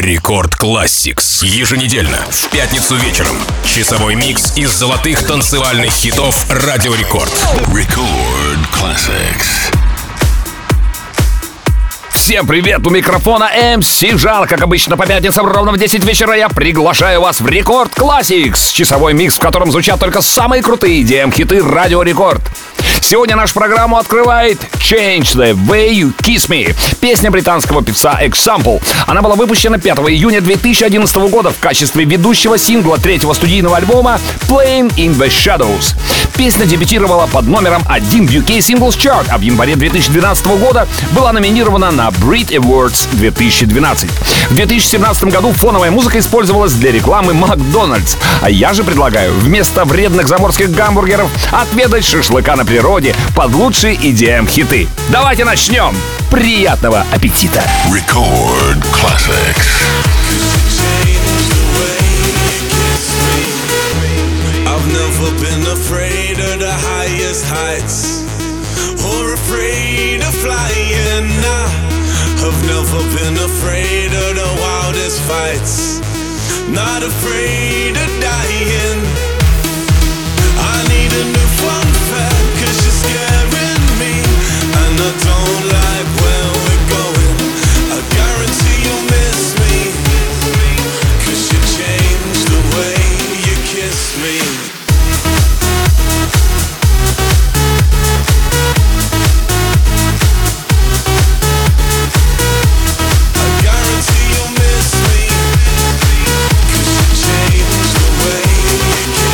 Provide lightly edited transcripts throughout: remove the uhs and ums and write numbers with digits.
Рекорд Classics. Еженедельно, в пятницу вечером. Часовой микс из золотых танцевальных хитов Радио Рекорд. Record Classics. Всем привет, у микрофона MC Жар. Как обычно, по пятницам ровно в 10 вечера я приглашаю вас в Рекорд Classics. Часовой микс, в котором звучат только самые крутые EDM-хиты Радио Рекорд. Сегодня нашу программу открывает Change the Way You Kiss Me, песня британского певца Example. Она была выпущена 5 июня 2011 года в качестве ведущего сингла третьего студийного альбома Playing in the Shadows. Песня дебютировала под номером 1 в UK Singles Chart, а в январе 2012 года была номинирована на Brit Awards 2012. В 2017 году фоновая музыка использовалась для рекламы Макдональдс. А я же предлагаю вместо вредных заморских гамбургеров отведать шашлыка на природе под лучшие EDM-хиты. Давайте начнем! Приятного аппетита! Record Classics. I've never been afraid of the highest heights or afraid of flying. I've never been afraid of the wildest fights, not afraid of dying. I need a new fun fact, 'cause you're scaring me, and I don't like where we're going. I guarantee you'll miss me, 'cause you changed the way you kiss me. You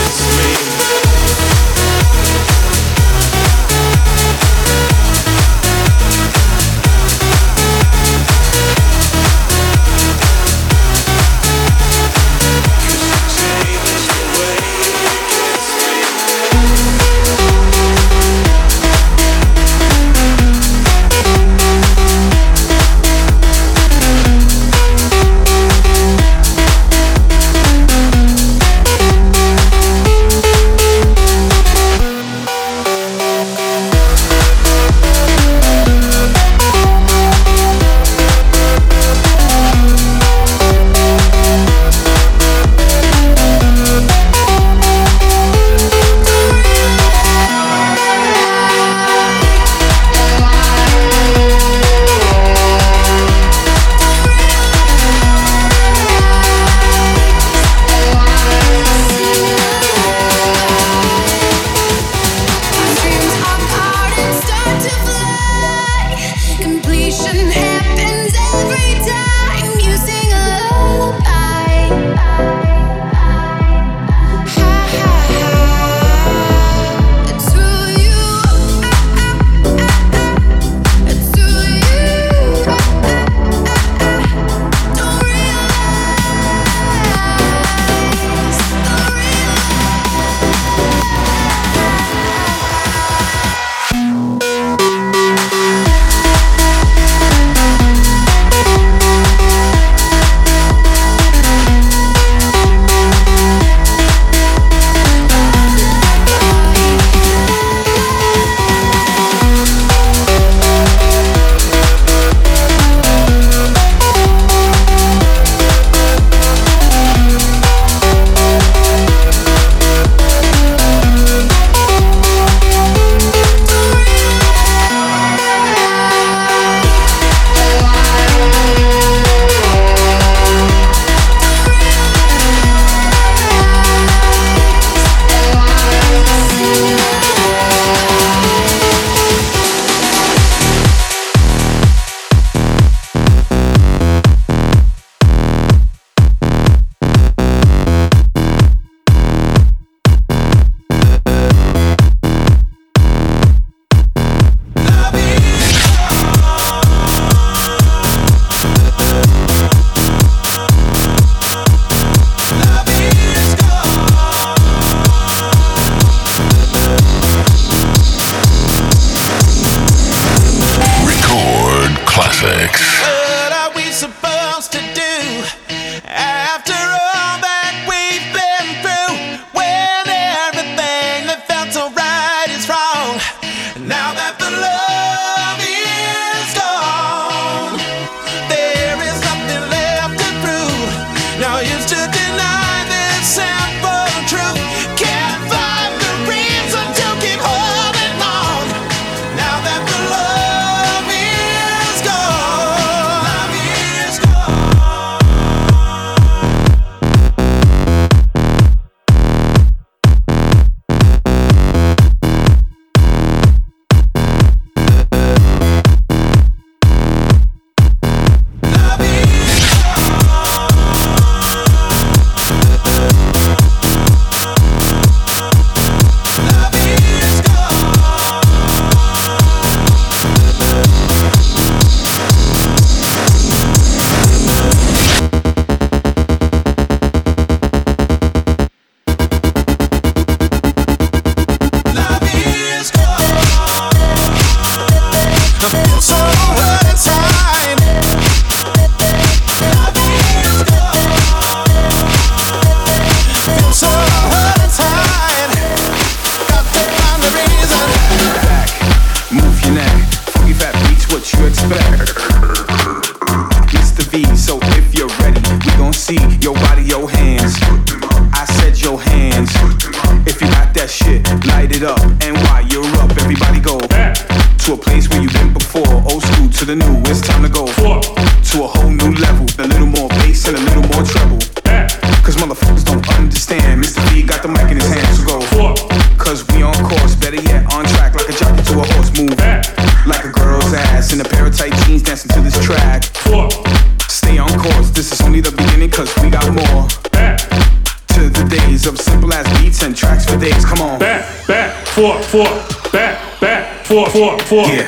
this is only the beginning, cause we got more. Back to the days of simple as beats and tracks for days. Come on. Back, four. Back, four. Yeah.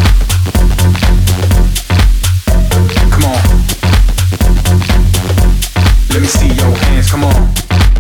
Come on. Let me see your hands, come on.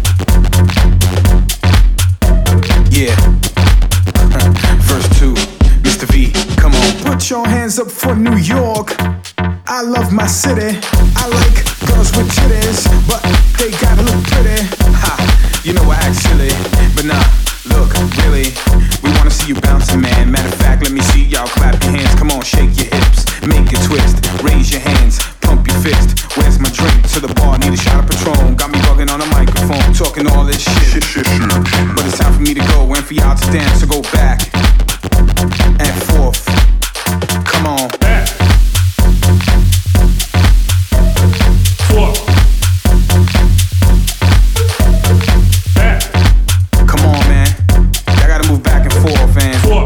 Yeah. Verse 2, Mr. V, come on. Put your hands up for New York. I love my city. I like girls with titties, but they gotta look pretty. Ha, you know I act silly, but nah, look, really, we wanna see you bouncing, man. Matter of fact, let me see y'all clap your hands. Come on, shake your hips, make it twist. Raise your hands, pump your fist. Where's my drink? To the bar, need a shot of Patron. Got me bugging on a microphone, talking all this shit. But it's time for me to go and for y'all to dance. So go back and forth. Come on. Back. Four. Back. Come on, man. Y'all gotta move back and forth, man. Four.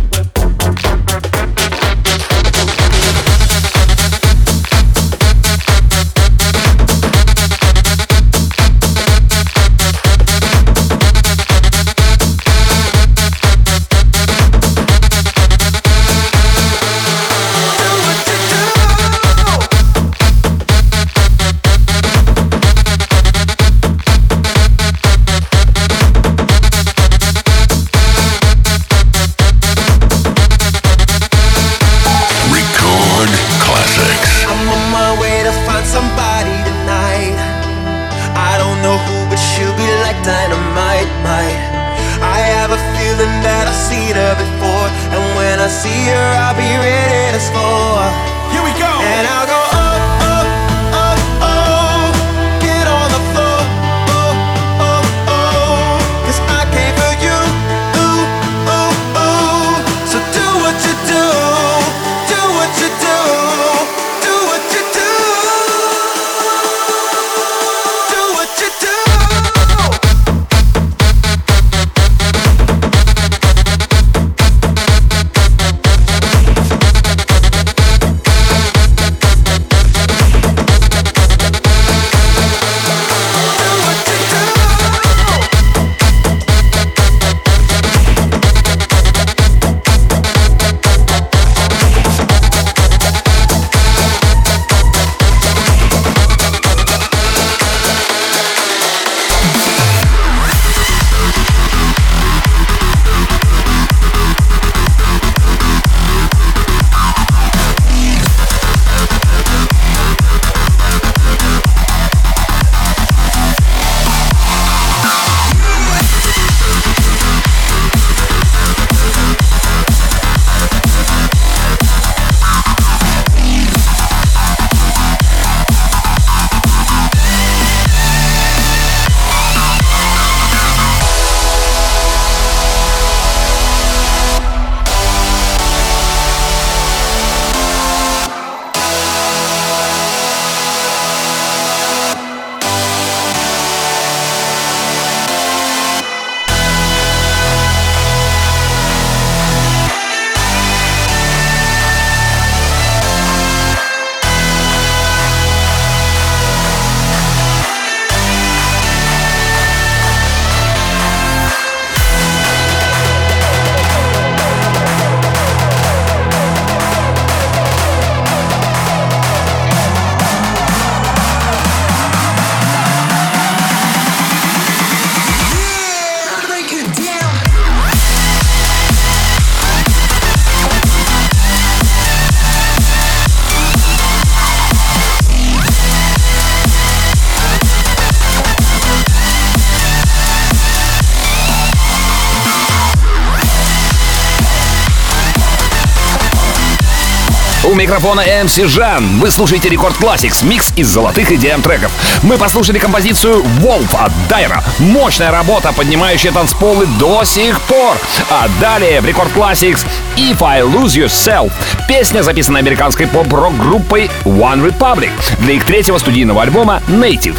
У микрофона MC Жан. Вы слушаете Рекорд Classics, микс из золотых EDM треков. Мы послушали композицию Wolf от Дайра. Мощная работа, поднимающая танцполы до сих пор. А далее в Рекорд Classics If I Lose Yourself. Песня, записанная американской поп-рок группой One Republic для их третьего студийного альбома Native.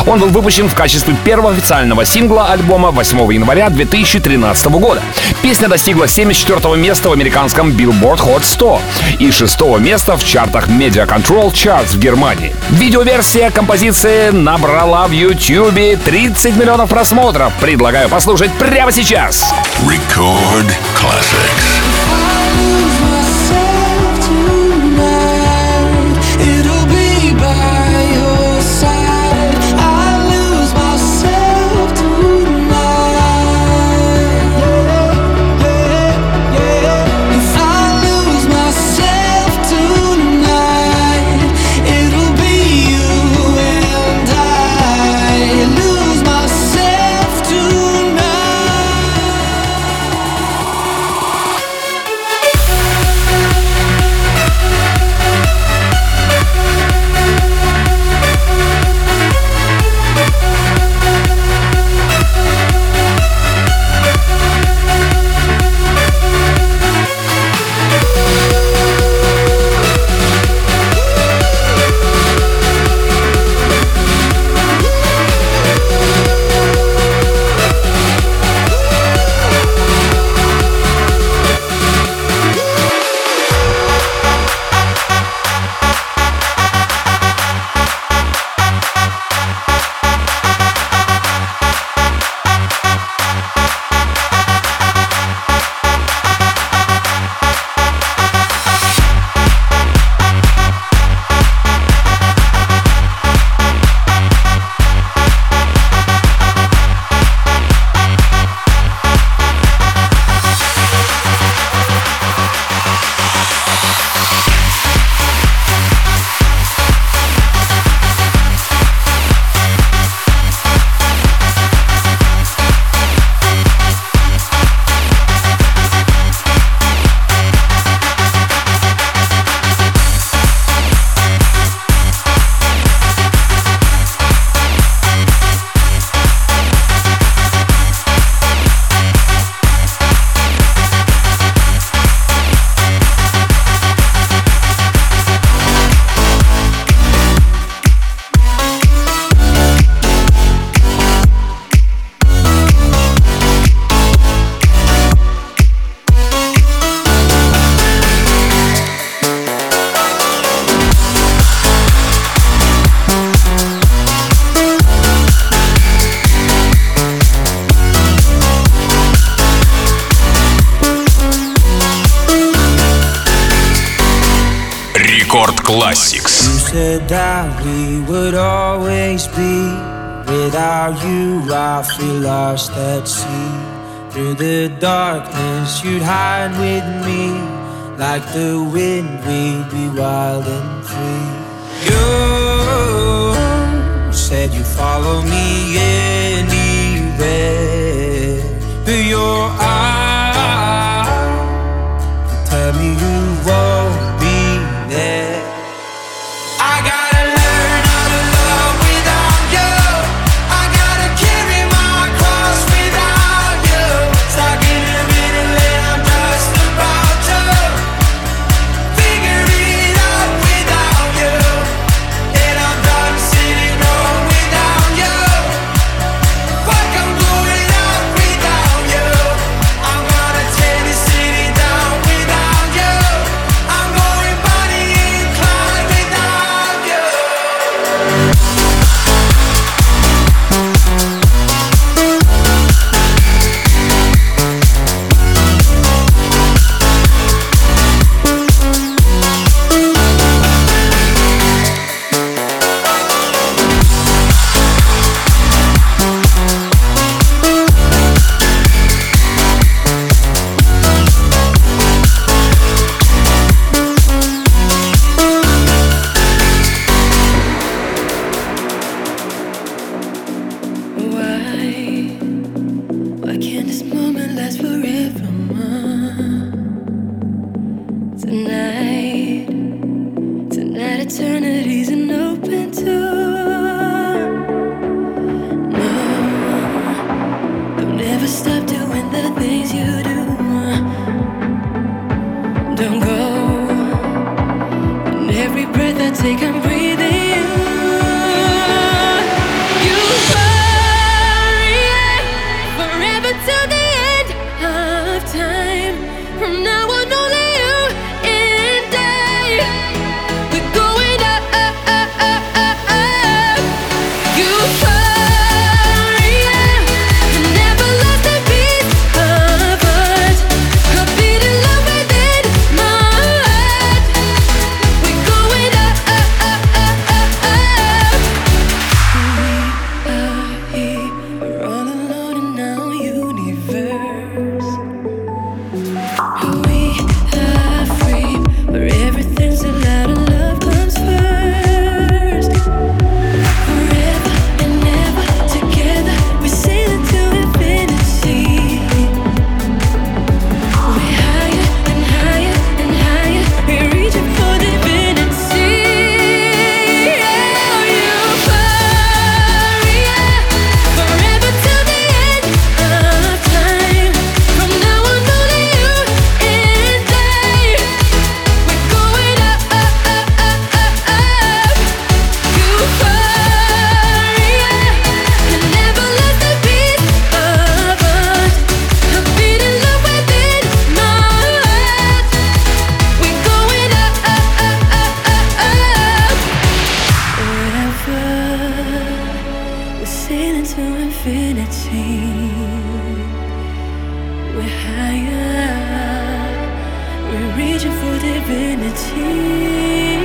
Он был выпущен в качестве первого официального сингла альбома 8 января 2013 года. Песня достигла 74-го места в американском Billboard Hot 100 и 6-го места в чартах Media Control Charts в Германии. Видеоверсия композиции набрала в YouTube 30 миллионов просмотров. Предлагаю послушать прямо сейчас. Record classics. Рекорд Classics. You said that we would always be. Without you, I feel lost at sea. Through the darkness, you'd hide with me. Like the wind, we'd be wild and free. You said you'd follow me anywhere. But your eyes tell me you won't be there. I gotta learn how to love without you. I gotta carry my cross without you. Stuck in the middle and I'm just about to figure it out without you. And I'm done sitting home without you. sailing to infinity. We're higher, we're reaching for divinity.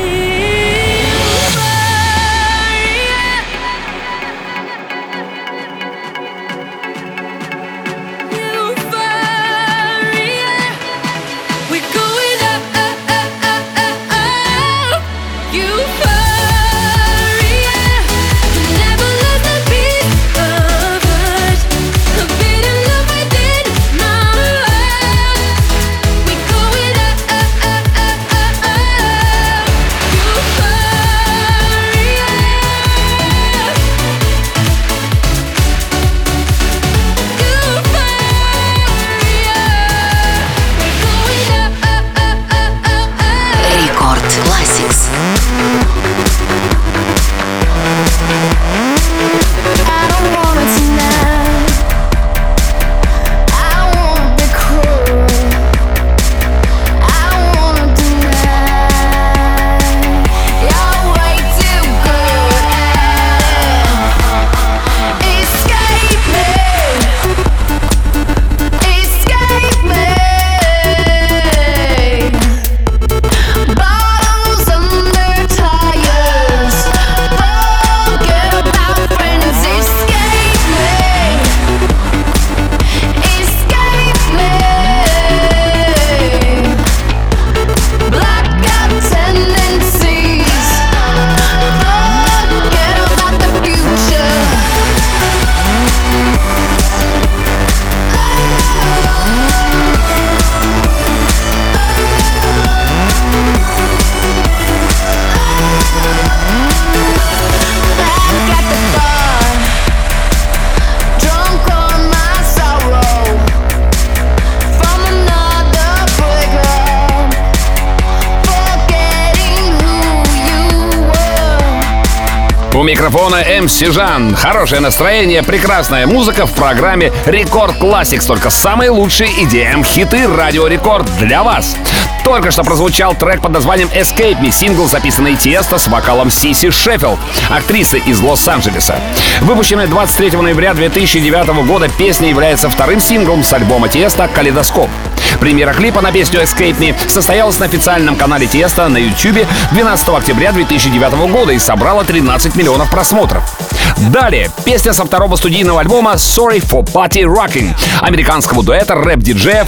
У микрофона МС Жан. Хорошее настроение, прекрасная музыка в программе Рекорд Classics. Только самые лучшие EDM-хиты Радио Рекорд для вас. Только что прозвучал трек под названием Escape Me, сингл, записанный Тиесто с вокалом Сиси Шеффилд, актрисы из Лос-Анджелеса. Выпущенная 23 ноября 2009 года, песня является вторым синглом с альбома Тиесто «Калейдоскоп». Премьера клипа на песню Escape Me состоялась на официальном канале Тиесто на YouTube 12 октября 2009 года и собрала 13 миллионов просмотров. Далее, песня со второго студийного альбома Sorry for Party Rocking американского дуэта рэп-диджеев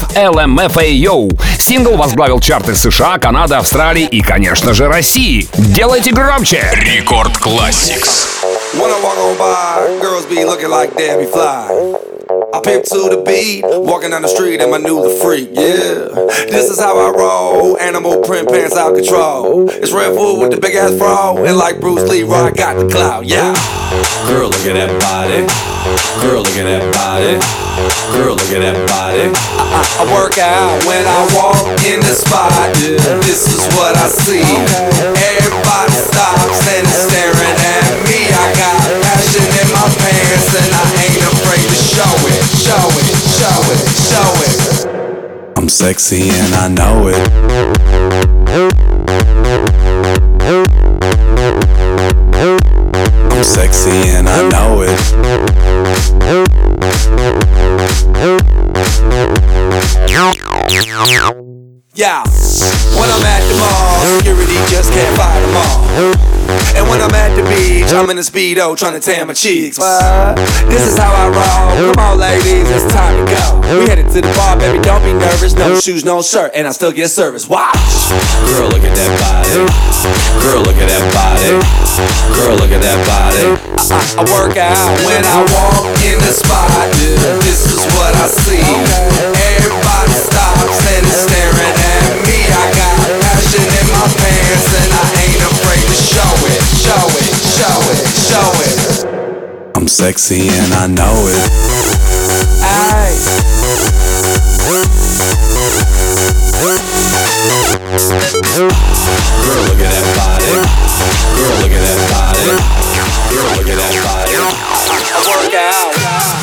LMFAO. Сингл возглавил чарты США, Канады, Австралии и, конечно же, России. Делайте громче! Рекорд Classics. When I walk on by, girls be looking like Debbie Fly. I pimp to the beat, walking down the street and my new the freak, yeah. This is how I roll, animal print pants out control. It's Red Bull with the big ass fro, and like Bruce Lee, I got the clout, yeah. Girl, look at that body. Girl, look at that body. Girl, look at that body. I work out when I walk in the spot. This is what I see. Everybody stops and is staring at me. I got passion in my pants and I ain't afraid to show it, show it, show it, show it. I'm sexy and I know it. I'm sexy and I know it. Yeah, when I'm at the mall, security just can't fight them all. And when I'm at the beach, I'm in a Speedo trying to tan my cheeks. This is how I roll. Come on, ladies, it's time to go. We headed to the bar, baby, don't be nervous. No shoes, no shirt, and I still get service. Watch. Girl, look at that body. Girl, look at that body. Girl, look at that body. I work out when I walk in the spot. This is what I see. Everybody stops and is staring at me. I got passion in my pants and I ain't afraid to show it, show it, show it, show it. I'm sexy and I know it. Ay. Girl, look at that body. Girl, look at that body. Girl, look at that body. I work out.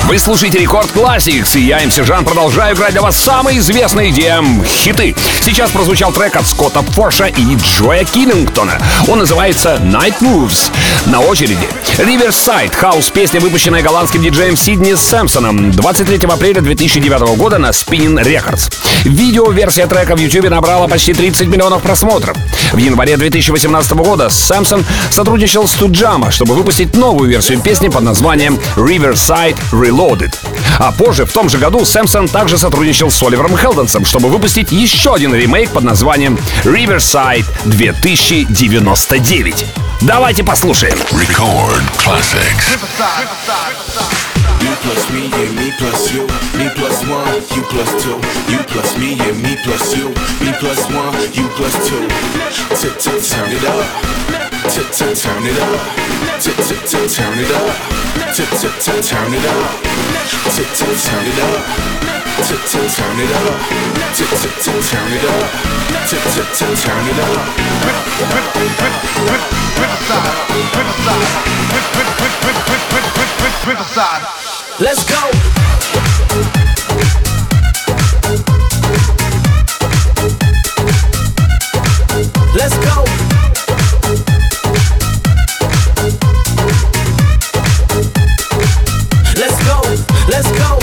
Вы слушаете Рекорд Classics, и я, МС Жан, продолжаю играть для вас самые известные EDM-хиты. Сейчас прозвучал трек от Скотта Форша и Джоя Киллингтона. Он называется Night Moves. На очереди Riverside, хаус-песня, выпущенная голландским диджеем Сидни Сэмпсоном 23 апреля 2009 года на Spinnin' Records. Видео-версия трека в YouTube набрала почти 30 миллионов просмотров. В январе 2018 года Сэмпсон сотрудничал с Туджама, чтобы выпустить новую версию песни под названием Riverside Reloaded. А позже, в том же году, Сэмпсон также сотрудничал с Оливером Хелденсом, чтобы выпустить еще один ремейк под названием Riverside 2099. Давайте послушаем. Record Classics. You plus me, yeah, me plus you. Me plus one, you plus two. You plus me, yeah, me plus you. Me plus one, you plus two. Turn it up. Turn it up. Turn it up. Turn it up. Turn it up. Turn it up. Riverside. Let's go. Let's go. Let's go. Let's go.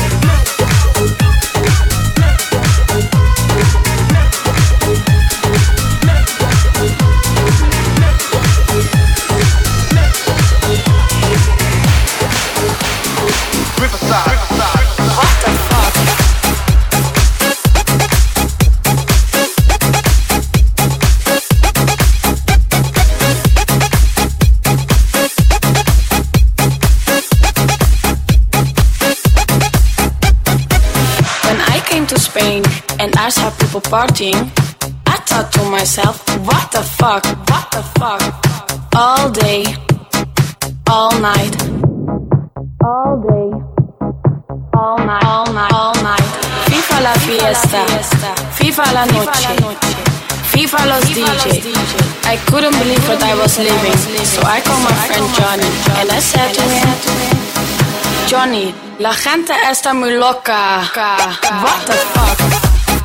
And I saw people partying. I thought to myself, what the fuck, what the fuck? All day, all night, all day, all night, all night, all night. FIFA la fiesta, FIFA la noche, FIFA los DJ. I couldn't believe what I was living, so I called my friend Johnny and I said to him, Johnny, la gente está muy loca. What the fuck?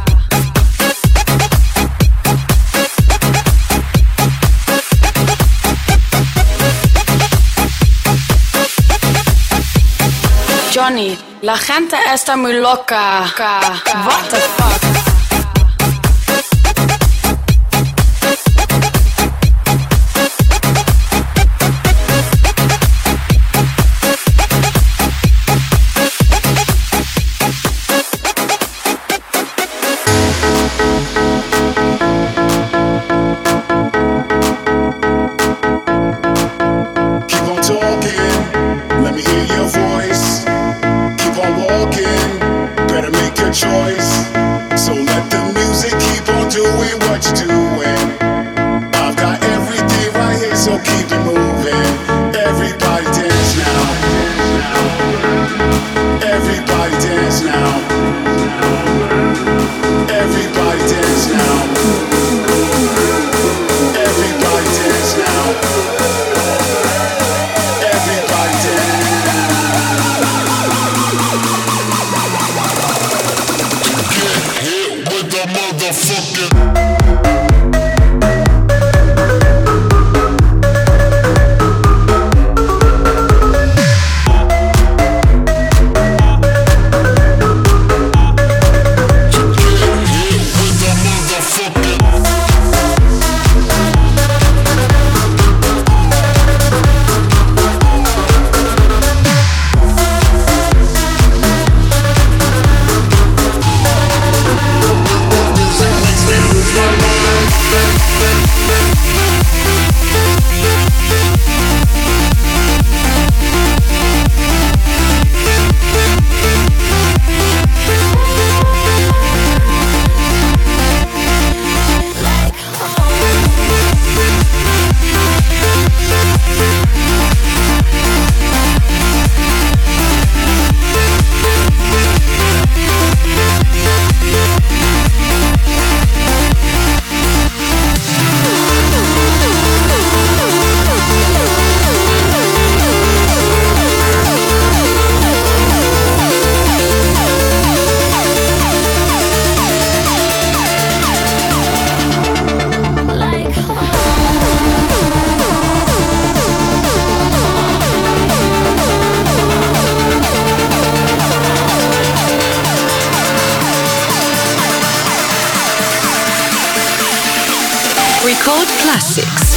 Johnny, la gente está muy loca. What the fuck? Choice. So Record Classics.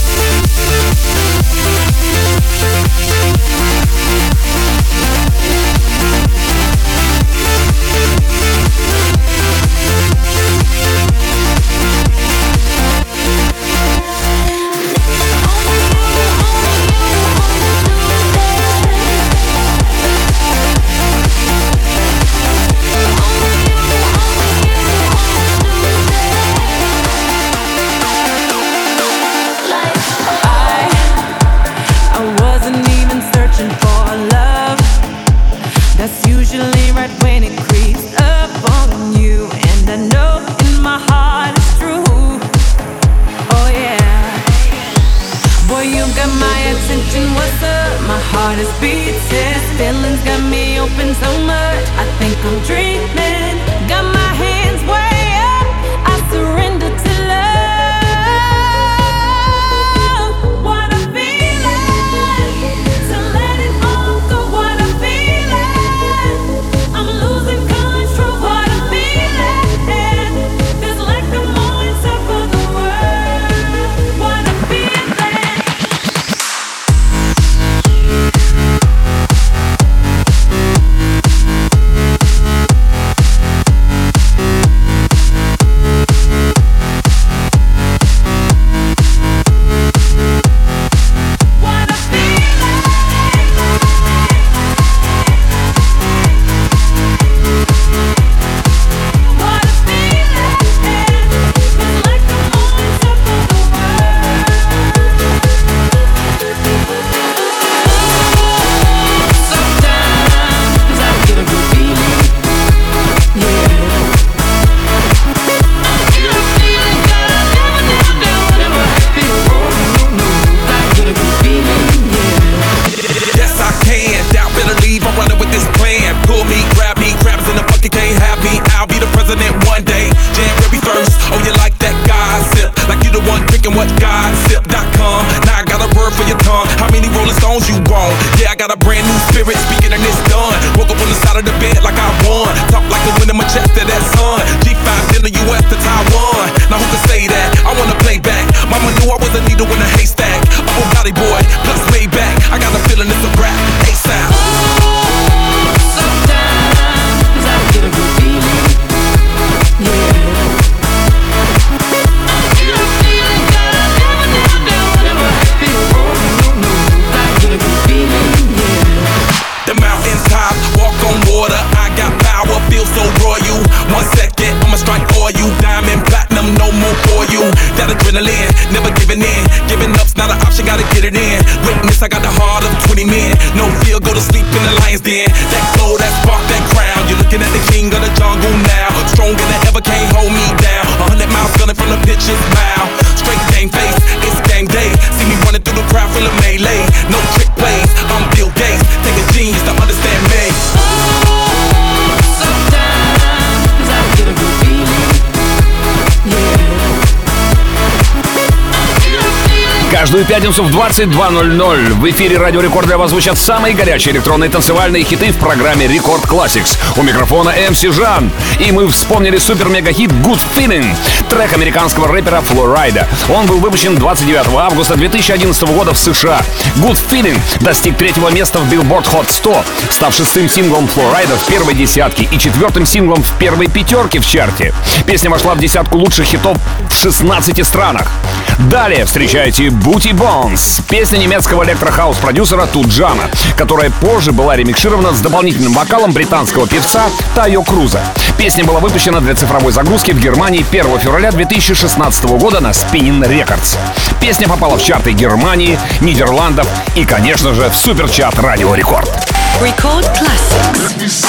Каждую пятницу в 22:00 в эфире Радио Рекорд для вас звучат самые горячие электронные танцевальные хиты в программе Рекорд Classics. У микрофона МС Жан. И мы вспомнили супер-мега-хит Good Feeling, трек американского рэпера Flo Rida. Он был выпущен 29 августа 2011 года в США. Good Feeling достиг 3-го места в Billboard Hot 100, став 6-м синглом Flo Rida в первой десятке и 4-м синглом в первой пятерке в чарте. Песня вошла в десятку лучших хитов в 16 странах. Далее встречайте Booty Bones, песня немецкого электрохаус-продюсера Туджана, которая позже была ремикширована с дополнительным вокалом британского певца Тайо Круза. Песня была выпущена для цифровой загрузки в Германии 1 февраля 2016 года на Spinnin' Records. Песня попала в чарты Германии, Нидерландов и, конечно же, в суперчарт Радио Рекорд. Record Classics.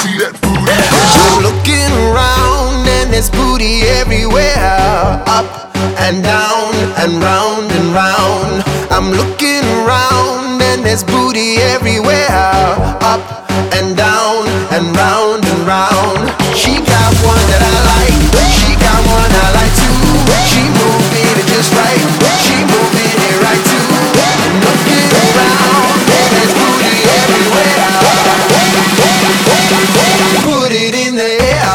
I'm looking around and there's booty everywhere, up and down and round and round. I'm looking around and there's booty everywhere, up and down and round and round. She got one that I like, she got one I like too. She moving it just right, she moving it right too. I'm looking around and there's booty everywhere. Put it in the air.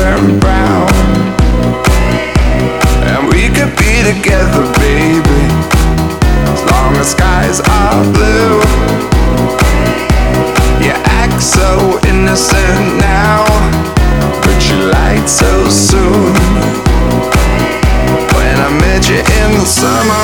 turn brown. And we could be together, baby, as long as skies are blue. You act so innocent now, but you lied so soon. When I met you in the summer,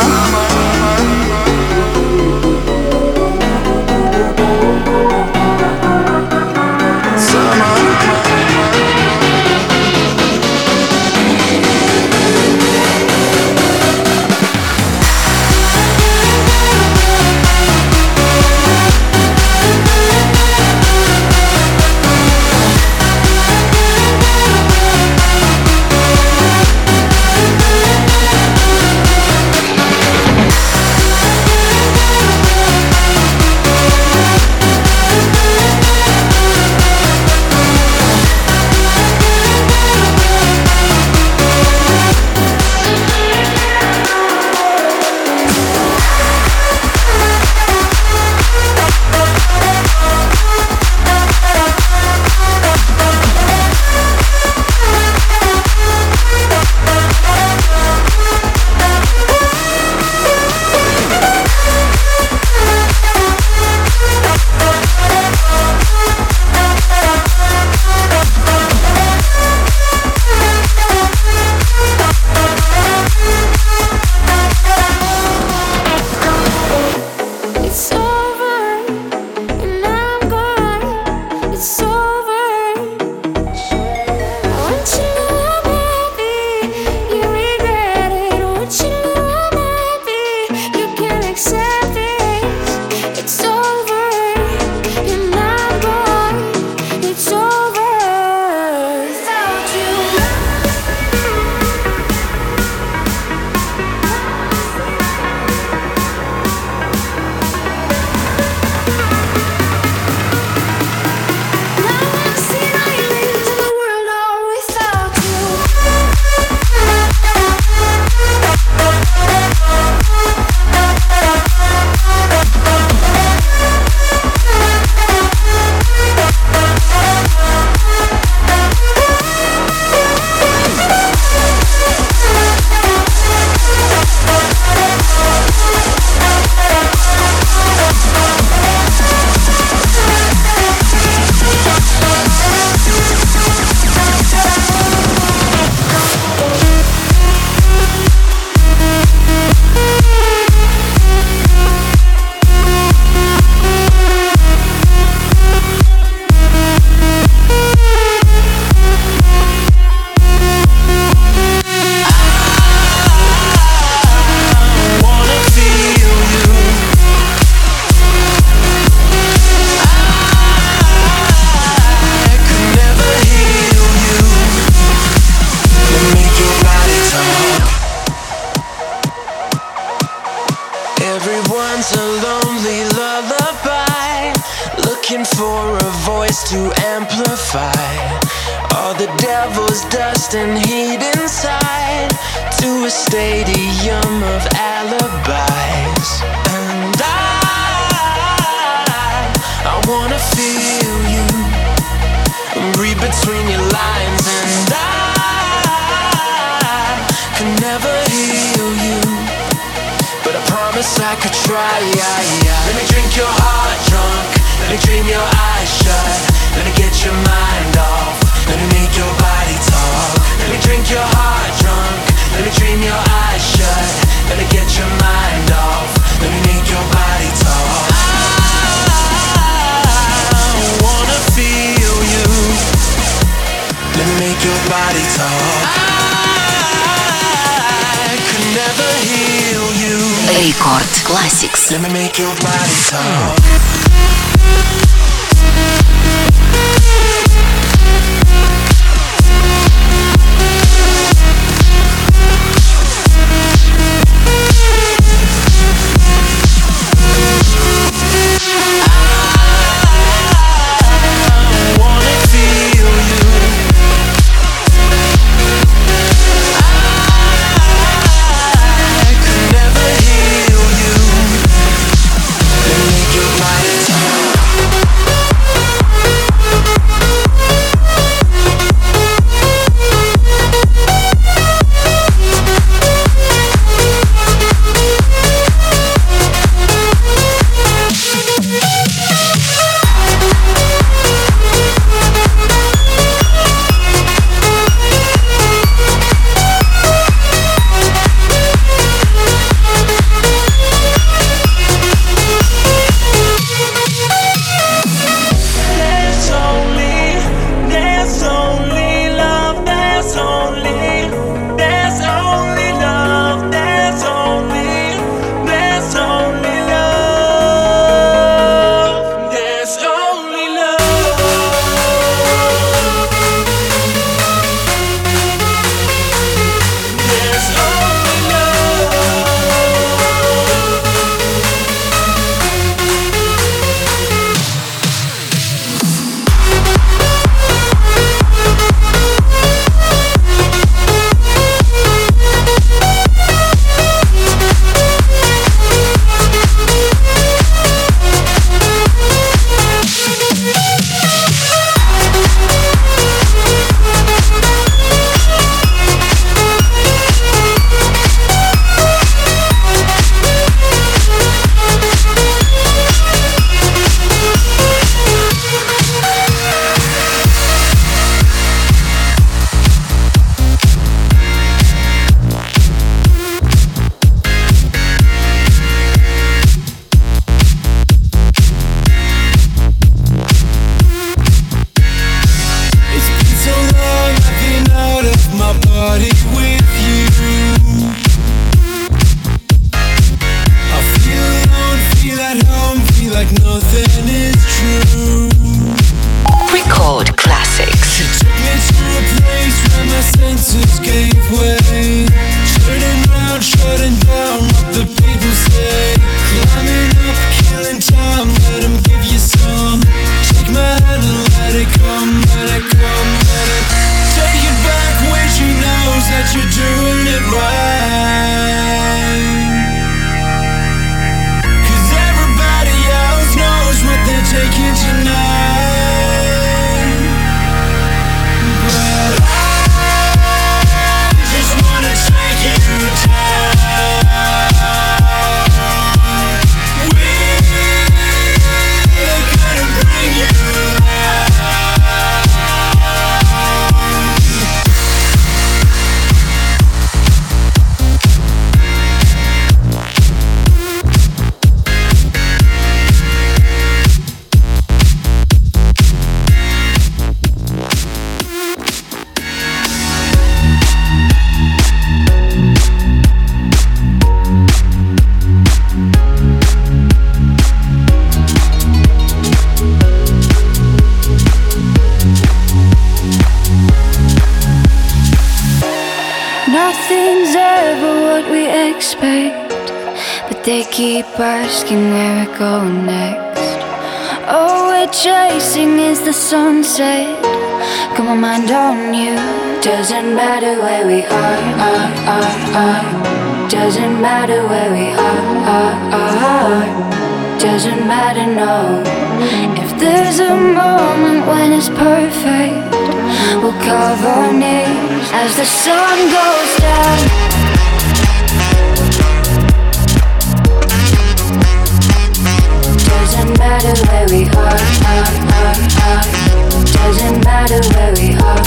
Рекорд Classics. Let me make your body talk. Body She took me to a place where my senses gave way. Turning round, shutting down what the people say. Climbing up, killing time, let them give you some. Take my hand and let it come, let it come, let it. Take it back when she knows that you're doing it right. 'Cause everybody else knows what they're taking tonight. But I just wanna take you down. We're gonna bring you out. Nothing's ever what we expect, but they keep asking where we're going next. All we're chasing is the sunset. Got my mind on you. Doesn't matter where we are. Doesn't matter where we are. Doesn't matter, no. If there's a moment when it's perfect, we'll cover our knees as the sun goes down. Doesn't matter where we are. Doesn't matter where we are.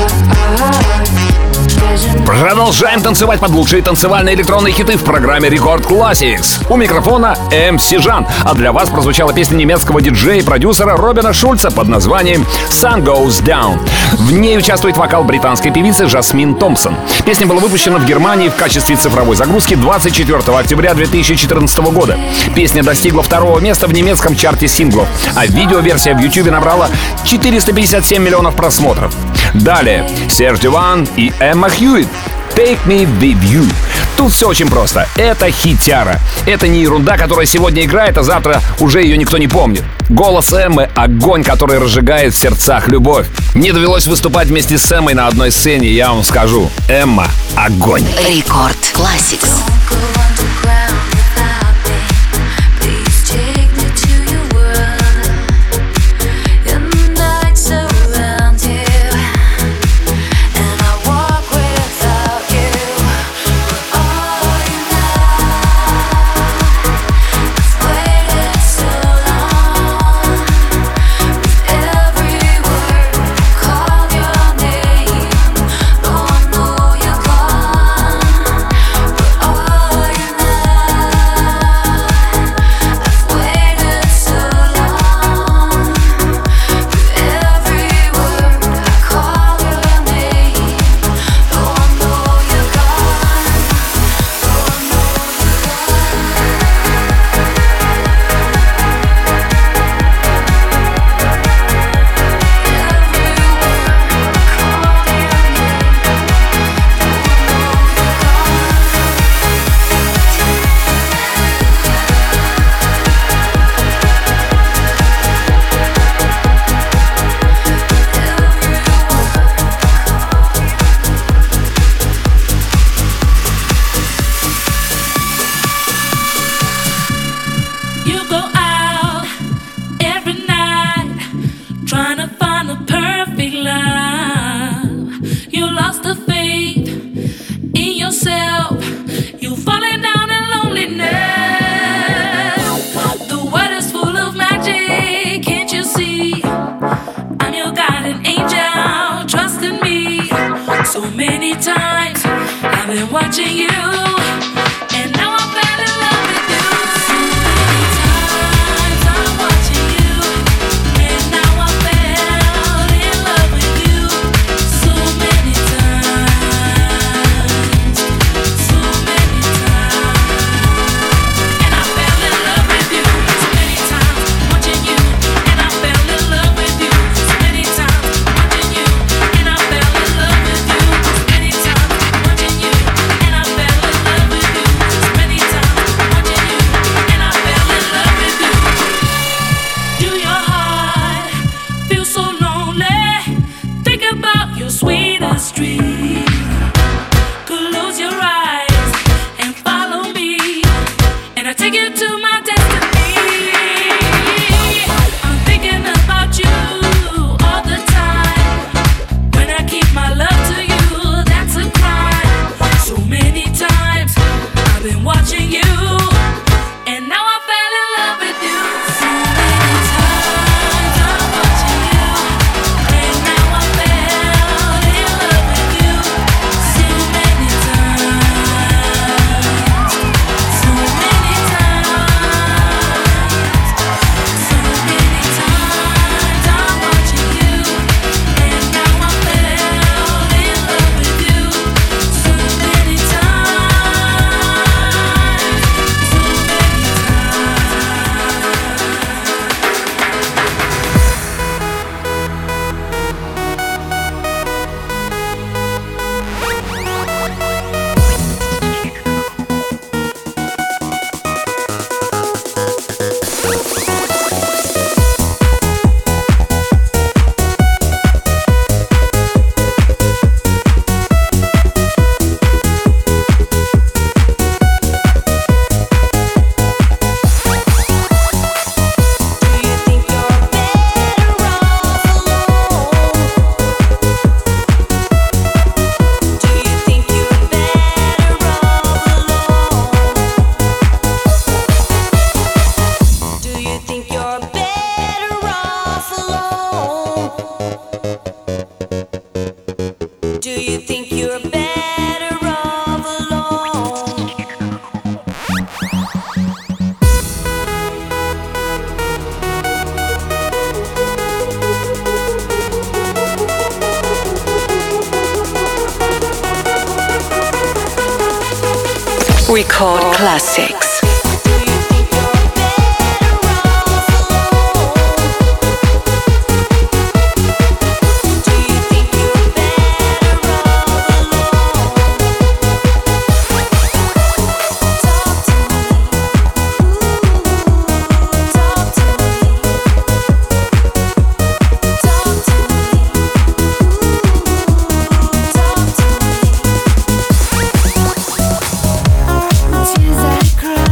Продолжаем танцевать под лучшие танцевальные электронные хиты в программе Рекорд Classics. У микрофона MC Жан, а для вас прозвучала песня немецкого диджея и продюсера Робина Шульца под названием Sun Goes Down. В ней участвует вокал британской певицы Жасмин Томпсон. Песня была выпущена в Германии в качестве цифровой загрузки 24 октября 2014 года. Песня достигла 2-го места в немецком чарте синглов, а видеоверсия в YouTube набрала 457 миллионов просмотров. Далее Серж Дюван и Эмма Хьюитт «Take Me With You». Тут все очень просто. Это хитяра. Это не ерунда, которая сегодня играет, а завтра уже ее никто не помнит. Голос Эммы — огонь, который разжигает в сердцах любовь. Мне довелось выступать вместе с Эммой на одной сцене, я вам скажу. Эмма — огонь. Рекорд Classics. Watching you. street. Close your eyes and follow me, and I take you to my destiny. I'm thinking about you all the time. When I keep my love to you, that's a crime. So many times I've been watching you, and now I fell in love with you. So many times I'm watching you, and now I fell in love with you. So many times, so many times, so many times I'm watching you, and now I fell in love with you. So many Record Classics. Tears I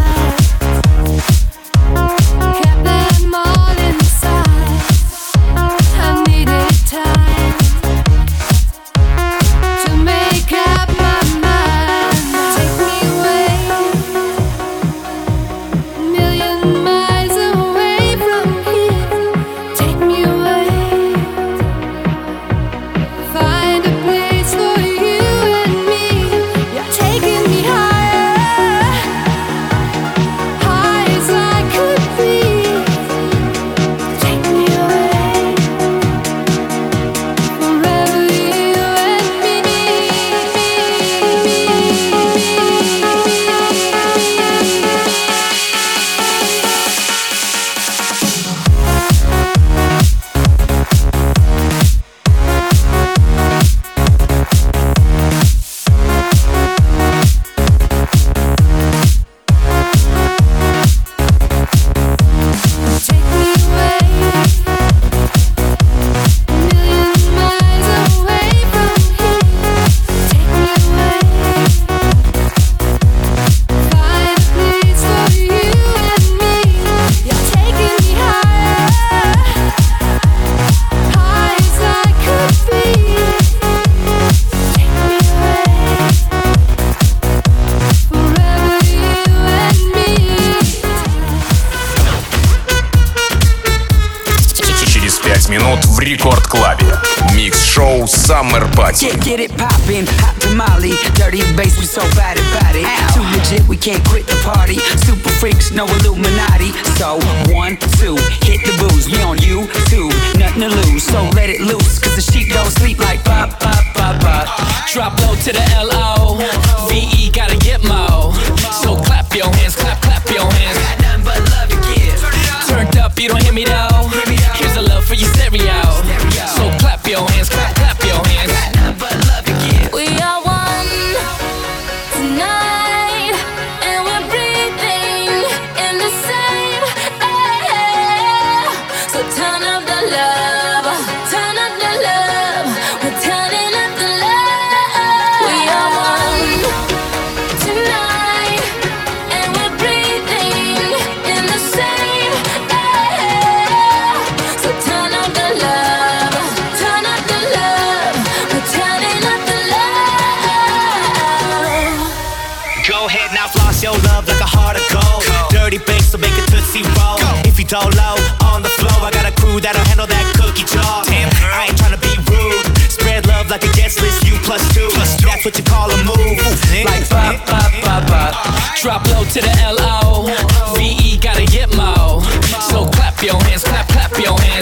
минут в рекорд-клабе. Микс-шоу Summer Party. Get it poppin', hot tamale, dirty bass, we so bad about it. Too legit, we can't quit the party. Super freaks, no Illuminati. So 1, 2, hit the booze. We on YouTube, nothing to lose. So let it loose, cause the sheep don't sleep like pop, pop, pop, pop. Drop low to the L-O-V-E, gotta get mo. So clap your hands, clap, clap your hands. Got nothing but love to give. Turned up, you don't hear me though. Here's a love for your stereo. So clap your hands, clap, clap your hands. Got nothing but love to give. We are one tonight, and we're breathing in the same air. So turn up the love, turn up the love. We're turning up the love. show love like a heart of gold. Dirty bass, so make it tootsie roll. If you don't low on the floor, I got a crew that'll handle that cookie jar. Damn, I ain't tryna be rude. Spread love like a guest list, you plus two. That's what you call a move. Like bop, bop, bop, bop. Drop low to the L-O-V-E, gotta get mo. So clap your hands, clap, clap your hands.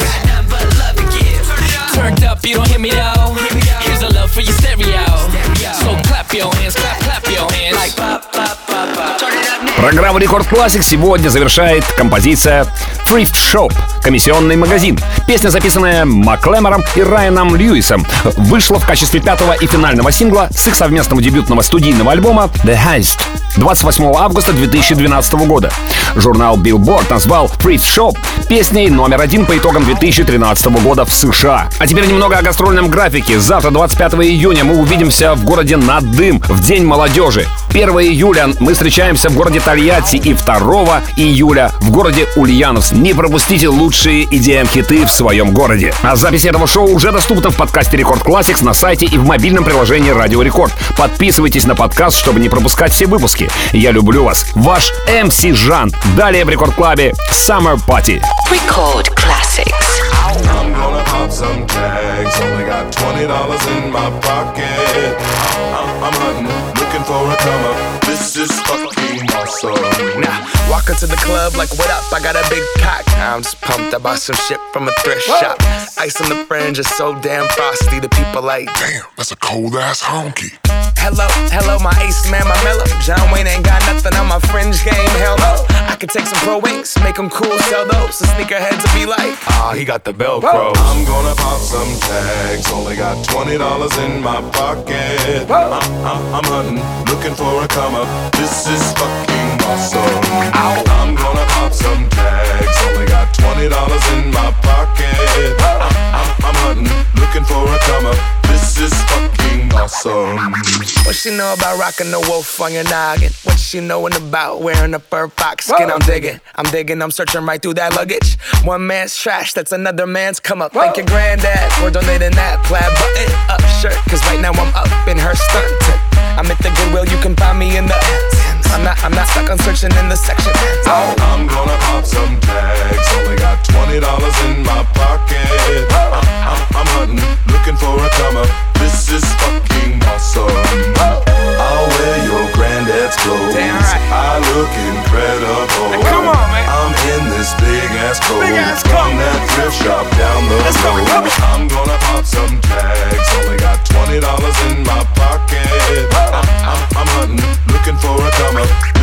Turned up, you don't hear me though. Here's a love for your stereo. So clap your hands, clap, clap your hands. Like bop, bop, bop, bop. Программу Рекорд Classic сегодня завершает композиция Thrift Shop — комиссионный магазин. Песня, записанная Маклемором и Райаном Льюисом, вышла в качестве пятого и финального сингла с их совместного дебютного студийного альбома The Heist 28 августа 2012 года. Журнал Billboard назвал Thrift Shop песней номер 1 по итогам 2013 года в США. А теперь немного о гастрольном графике. Завтра, 25 июня, мы увидимся в городе Надым в День молодежи. 1 июля мы встречаемся в городе Тольятти и 2 июля в городе Ульяновск. Не пропустите лучшие EDM-хиты в своем городе. А запись этого шоу уже доступна в подкасте Рекорд Classics на сайте и в мобильном приложении Радио Рекорд. Подписывайтесь на подкаст, чтобы не пропускать все выпуски. Я люблю вас. Ваш MC Жан. Далее в Рекорд Клабе Summer Party. Record Classics. I'm gonna pop some tags. Only got $20 in my pocket. I'm hunting, looking for a come up. This is fucking awesome. Nah, walk into the club like, what up? I got a big cock. I'm just pumped. I bought some shit from a thrift shop. Ice on the fringe is so damn frosty. The people like, damn, that's a cold ass honky. Hello, hello, my ace man, my mellow. John Wayne ain't got nothing on my fringe game, hell no. I could take some pro wings, make them cool, sell those. The sneakerheads will be like, ah, he got the Velcro. I'm gonna pop some tags. Only got $20 in my pocket. I'm hunting, looking for a come up. This is fucking awesome. I'm gonna pop some tags. Only got $20 in my pocket. I'm hunting, looking for a come up. This is fucking awesome. What she know about rocking the wolf on your noggin? What she knowin' about wearing a fur fox skin? I'm digging, I'm searching right through that luggage. One man's trash, that's another man's come up. Thank your granddad for donating that plaid button up shirt. Cause right now I'm up in her skirt. I'm at the Goodwill, you can find me in the I'm not stuck on searching in the section. I'm gonna pop some tags. Only got $20 in my pocket. I'm hunting, looking for a come up. This is fucking awesome. I'll wear your granddad's clothes. Damn right. I look incredible. Now come on, man. I'm in this big ass coat from that thrift shop down the road. I'm gonna pop some tags. Only got $20 in my pocket. I'm hunting, looking for a come up.